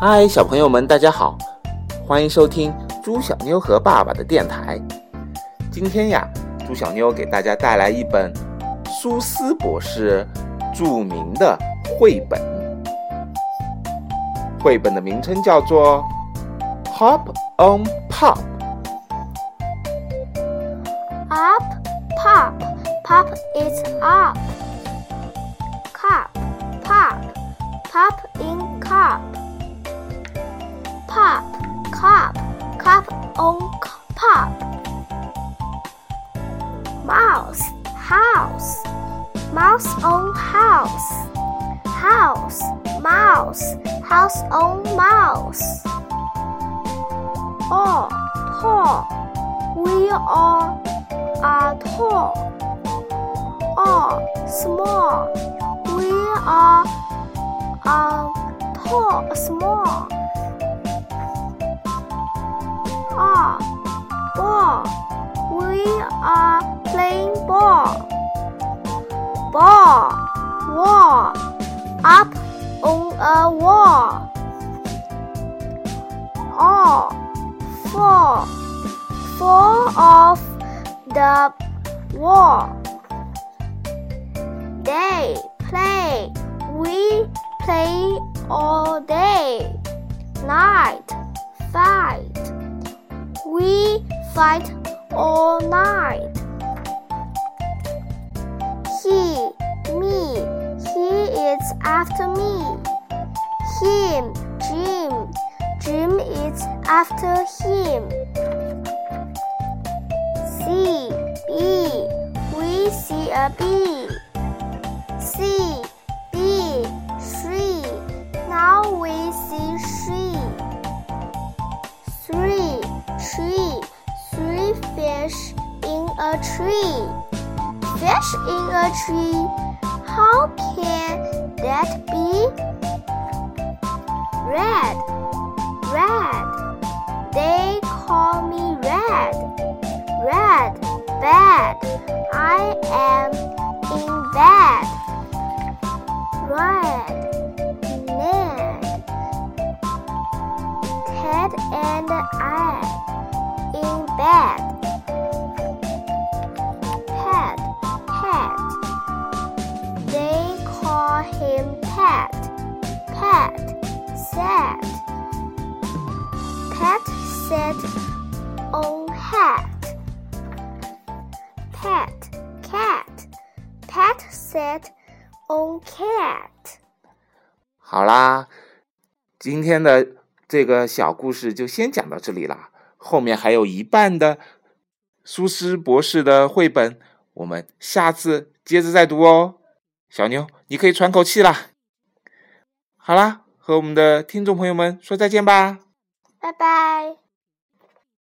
嗨，小朋友们，大家好，欢迎收听猪小妞和爸爸的电台。今天呀，猪小妞给大家带来一本苏斯博士著名的绘本。绘本的名称叫做 Hop on Pop。Up, pop, pop is up. Cup, pop, pop in cup.Pop, cup, cup on pop. Mouse, house, mouse on house. House, mouse, house on mouse. All, tall, we all are tall. All, small, we are tall, small.Ball, we are playing ball. Ball, wall, up on a wall. All, fall off the wall. Day, play, we play all day. Night, fight.We fight all night. He, me, he is after me. Him, Jim, Jim is after him. C, bee, we see a bee. C, bee, tree, now we see tree.Three fish in a tree. Fish in a tree. How can that be? Red. They call me red. Red, bad. I am in bed. Red, Ned. Ted and I.In bed. Pet, they call him Pet. Pet, sat. Pet sat on hat. Pet, cat. Pet sat on cat. 好啦，今天的这个小故事就先讲到这里啦。后面还有一半的苏斯博士的绘本，我们下次接着再读哦。小妞，你可以喘口气啦。好啦，和我们的听众朋友们说再见吧。 拜拜。